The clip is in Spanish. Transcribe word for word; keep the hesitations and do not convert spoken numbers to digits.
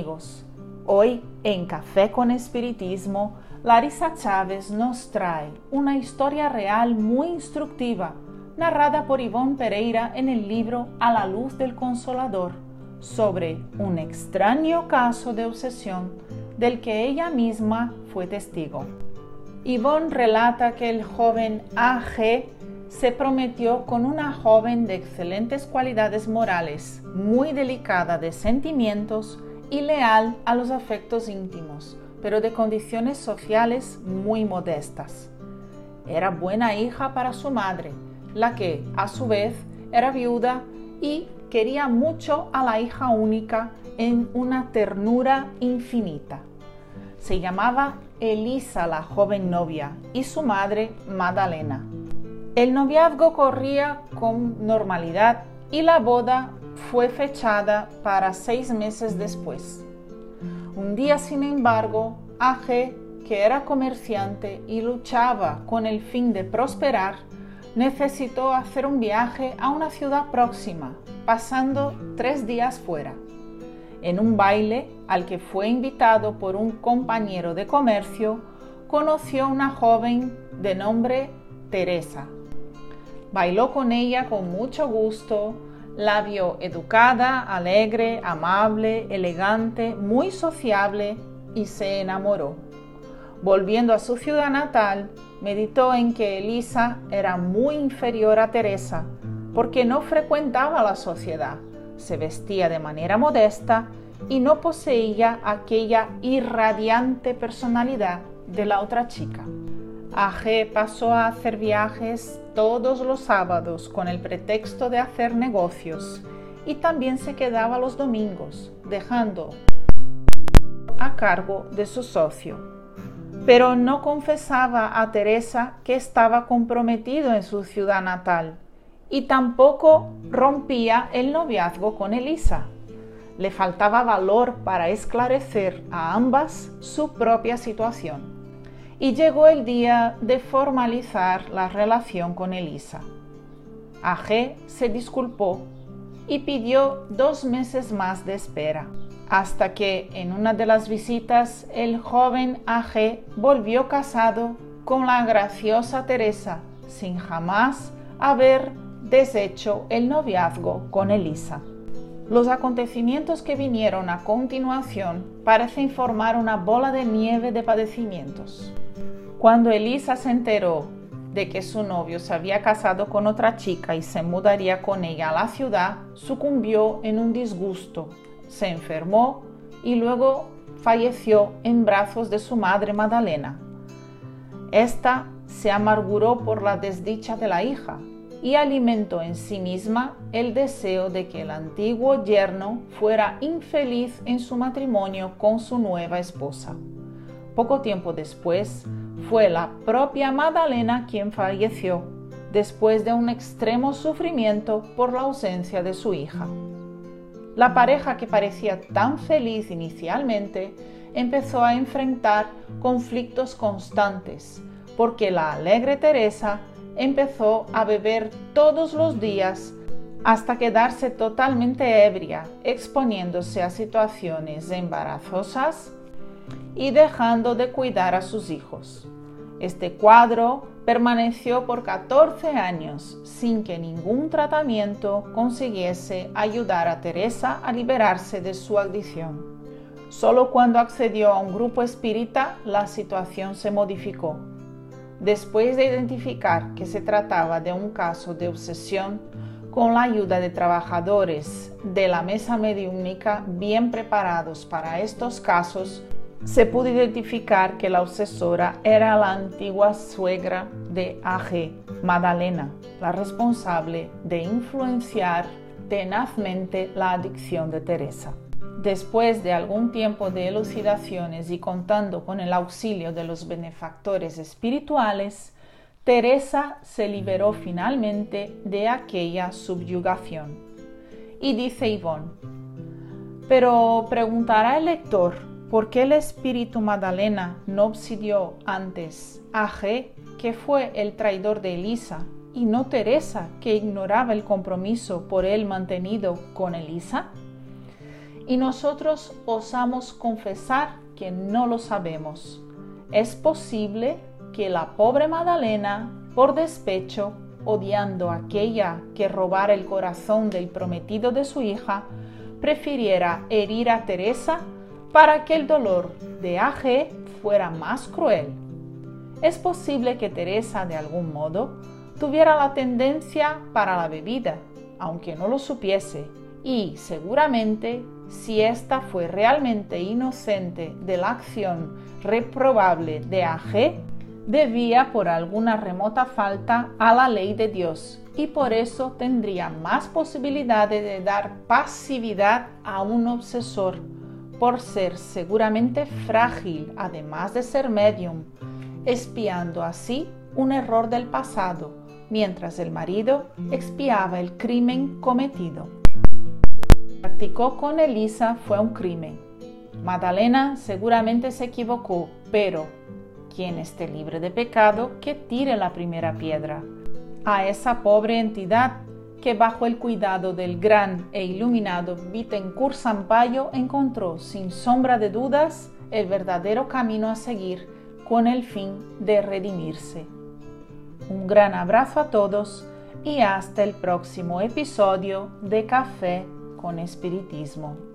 amigos, hoy en Café con Espiritismo, Larissa Chávez nos trae una historia real muy instructiva, narrada por Ivonne Pereira en el libro A la luz del Consolador, sobre un extraño caso de obsesión del que ella misma fue testigo. Ivonne relata que el joven A G se prometió con una joven de excelentes cualidades morales, muy delicada de sentimientos y leal a los afectos íntimos, pero de condiciones sociales muy modestas. Era buena hija para su madre, la que, a su vez, era viuda y quería mucho a la hija única en una ternura infinita. Se llamaba Elisa, la joven novia, y su madre Madalena. El noviazgo corría con normalidad y la boda fue fechada para seis meses después. Un día, sin embargo, A G, que era comerciante y luchaba con el fin de prosperar, necesitó hacer un viaje a una ciudad próxima, pasando tres días fuera. En un baile al que fue invitado por un compañero de comercio, conoció a una joven de nombre Teresa. Bailó con ella con mucho gusto, la vio educada, alegre, amable, elegante, muy sociable y se enamoró. Volviendo a su ciudad natal, meditó en que Elisa era muy inferior a Teresa porque no frecuentaba la sociedad, se vestía de manera modesta y no poseía aquella irradiante personalidad de la otra chica. A G pasó a hacer viajes todos los sábados con el pretexto de hacer negocios y también se quedaba los domingos, dejando a cargo de su socio. Pero no confesaba a Teresa que estaba comprometido en su ciudad natal y tampoco rompía el noviazgo con Elisa. Le faltaba valor para esclarecer a ambas su propia situación. Y llegó el día de formalizar la relación con Elisa. A G se disculpó y pidió dos meses más de espera, hasta que en una de las visitas el joven A G volvió casado con la graciosa Teresa, sin jamás haber deshecho el noviazgo con Elisa. Los acontecimientos que vinieron a continuación parecen formar una bola de nieve de padecimientos. Cuando Elisa se enteró de que su novio se había casado con otra chica y se mudaría con ella a la ciudad, sucumbió en un disgusto, se enfermó y luego falleció en brazos de su madre Madalena. Esta se amarguró por la desdicha de la hija y alimentó en sí misma el deseo de que el antiguo yerno fuera infeliz en su matrimonio con su nueva esposa. Poco tiempo después, fue la propia Madalena quien falleció, después de un extremo sufrimiento por la ausencia de su hija. La pareja, que parecía tan feliz inicialmente, empezó a enfrentar conflictos constantes, porque la alegre Teresa empezó a beber todos los días hasta quedarse totalmente ebria, exponiéndose a situaciones embarazosas y dejando de cuidar a sus hijos. Este cuadro permaneció por catorce años sin que ningún tratamiento consiguiese ayudar a Teresa a liberarse de su adicción. Solo cuando accedió a un grupo espírita la situación se modificó. Después de identificar que se trataba de un caso de obsesión, con la ayuda de trabajadores de la mesa mediúnica bien preparados para estos casos, se pudo identificar que la obsesora era la antigua suegra de A G, Madalena, la responsable de influenciar tenazmente la adicción de Teresa. Después de algún tiempo de elucidaciones y contando con el auxilio de los benefactores espirituales, Teresa se liberó finalmente de aquella subyugación. Y dice Ivonne: pero preguntará el lector, ¿por qué el espíritu Madalena no obsidió antes a G, que fue el traidor de Elisa, y no Teresa, que ignoraba el compromiso por él mantenido con Elisa? y nosotros osamos confesar que no lo sabemos. Es posible que la pobre Magdalena, por despecho, odiando a aquella que robara el corazón del prometido de su hija, prefiriera herir a Teresa para que el dolor de A G fuera más cruel. Es posible que Teresa, de algún modo, tuviera la tendencia para la bebida, aunque no lo supiese, y seguramente, si ésta fue realmente inocente de la acción reprobable de A G, debía por alguna remota falta a la ley de Dios y por eso tendría más posibilidades de dar pasividad a un obsesor, por ser seguramente frágil, además de ser medium, expiando así un error del pasado, mientras el marido expiaba el crimen cometido. Practicó con Elisa fue un crimen. Magdalena seguramente se equivocó, pero quien esté libre de pecado, que tire la primera piedra. A esa pobre entidad que bajo el cuidado del gran e iluminado Bittencourt Sampaio encontró sin sombra de dudas el verdadero camino a seguir con el fin de redimirse. Un gran abrazo a todos y hasta el próximo episodio de Café con Espiritismo.